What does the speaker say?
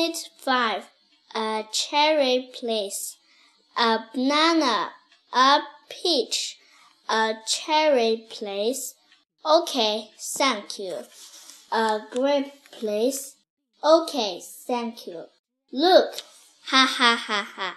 Unit 5. A cherry, please. A banana. A peach. A cherry, please. Okay, thank you. A grape, please. Okay, thank you. Look, ha ha ha ha.